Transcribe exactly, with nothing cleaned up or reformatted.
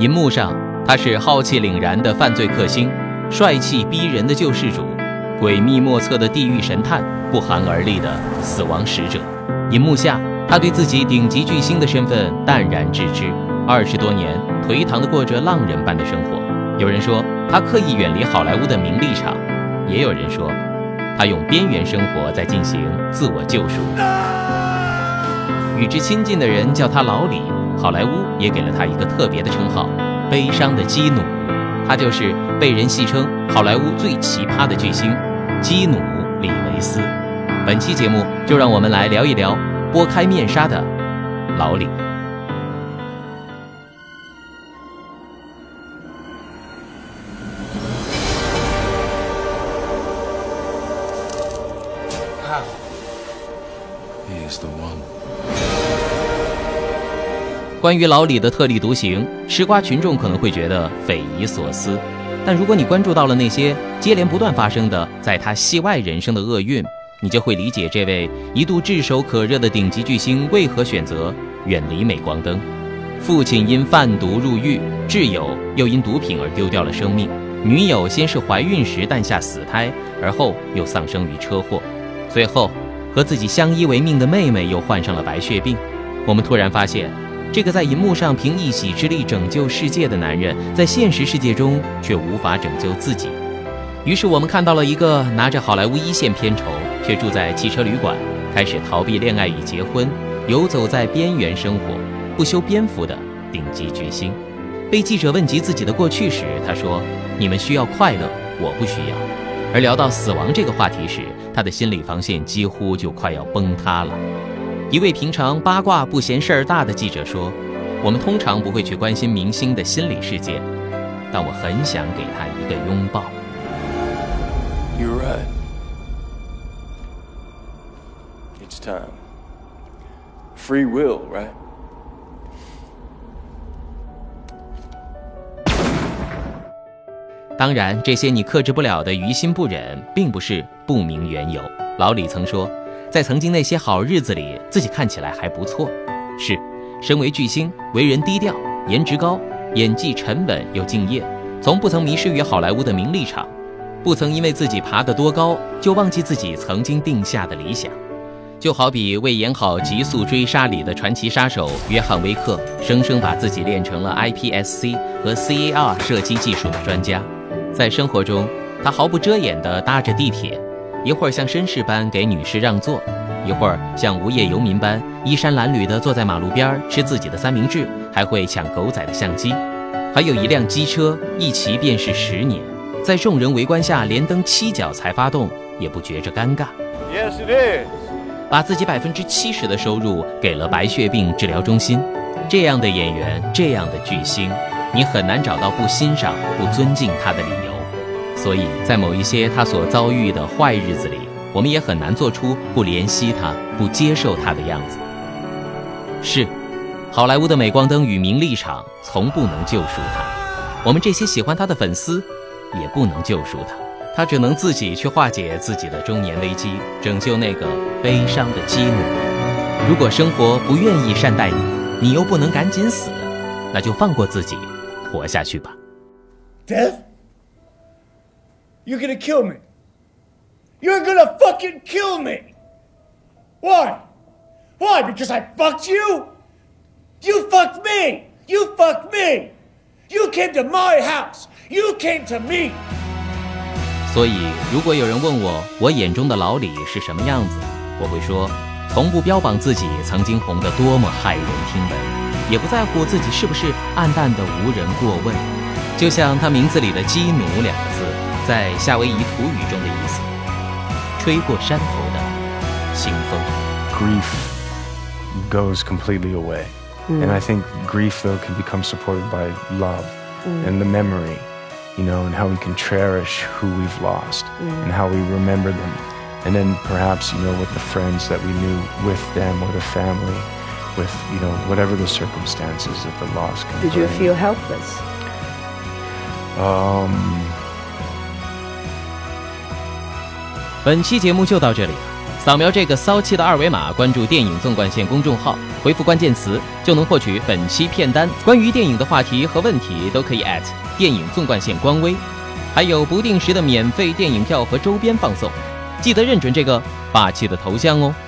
银幕上，他是浩气凛然的犯罪克星，帅气逼人的救世主，诡秘莫测的地狱神探，不寒而栗的死亡使者。银幕下，他对自己顶级巨星的身份淡然自知，二十多年颓唐地过着浪人般的生活。有人说他刻意远离好莱坞的名利场，也有人说他用边缘生活在进行自我救赎。与之亲近的人叫他老李，好莱坞也给了他一个特别的称号——悲伤的基努。他就是被人戏称好莱坞最奇葩的巨星基努·里维斯。本期节目就让我们来聊一聊拨开面纱的老李。关于老李的特立独行，吃瓜群众可能会觉得匪夷所思，但如果你关注到了那些接连不断发生的在他戏外人生的厄运，你就会理解这位一度炙手可热的顶级巨星为何选择远离镁光灯。父亲因贩毒入狱，挚友又因毒品而丢掉了生命，女友先是怀孕时诞下死胎，而后又丧生于车祸，最后和自己相依为命的妹妹又患上了白血病。我们突然发现，这个在银幕上凭一己之力拯救世界的男人，在现实世界中却无法拯救自己。于是我们看到了一个拿着好莱坞一线片酬，却住在汽车旅馆，开始逃避恋爱与结婚，游走在边缘生活，不修边幅的顶级巨星。被记者问及自己的过去时，他说：你们需要快乐，我不需要。而聊到死亡这个话题时，他的心理防线几乎就快要崩塌了。一位平常八卦不嫌事儿大的记者说：我们通常不会去关心明星的心理世界，但我很想给他一个拥抱。 You're right. It's time. Free will, right? 当然，这些你克制不了的于心不忍，并不是不明缘由。老李曾说，在曾经那些好日子里，自己看起来还不错。是，身为巨星，为人低调，颜值高，演技沉稳又敬业，从不曾迷失于好莱坞的名利场，不曾因为自己爬得多高，就忘记自己曾经定下的理想。就好比为演好《极速追杀》里的传奇杀手约翰·威克，生生把自己练成了 I P S C 和 C A R 射击技术的专家。在生活中，他毫不遮掩地搭着地铁，一会儿像绅士般给女士让座，一会儿像无业游民般衣衫褴褛地坐在马路边吃自己的三明治，还会抢狗仔的相机。还有一辆机车，一骑便是十年，在众人围观下连蹬七脚才发动，也不觉着尴尬。 Yes, it is. 把自己百分之七十的收入给了白血病治疗中心。这样的演员，这样的巨星，你很难找到不欣赏、不尊敬他的理由。所以在某一些他所遭遇的坏日子里，我们也很难做出不怜惜他、不接受他的样子。是，好莱坞的镁光灯与名利场从不能救赎他，我们这些喜欢他的粉丝也不能救赎他，他只能自己去化解自己的中年危机，拯救那个悲伤的基努。如果生活不愿意善待你，你又不能赶紧死，那就放过自己，活下去吧。 Death? You're gonna kill me. You're gonna fucking kill me. Why? Why? Because I fucked you? You fucked me. You fucked me. You came to my house. You came to me. 所以，如果有人问我，我眼中的老李是什么样子，我会说，从不标榜自己曾经红得多么骇人听闻，也不在乎自己是不是暗淡的无人过问。就像他名字里的基努两个字，在夏威夷土语中的意思，吹过山头的清风。 Grief goes completely away. Mm. And I think grief, though, can become supported by love mm. and the memory, you know, and how we can cherish who we've lost mm. and how we remember them. And then perhaps, you know, with the friends that we knew with them or the family, with, you know, whatever the circumstances that the loss can Did bring. you feel helpless? Um... 本期节目就到这里了。 扫描这个骚气的二维码，关注电影纵贯线公众号，回复关键词就能获取本期片单。关于电影的话题和问题都可以 at 电影纵贯线官微，还有不定时的免费电影票和周边放送。记得认准这个霸气的头像哦。